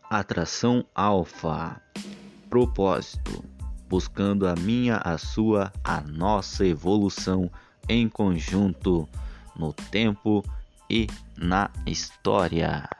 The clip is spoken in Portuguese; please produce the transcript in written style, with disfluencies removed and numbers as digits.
Atração alfa. Propósito: buscando a minha, a sua, a nossa evolução em conjunto, no tempo e na história.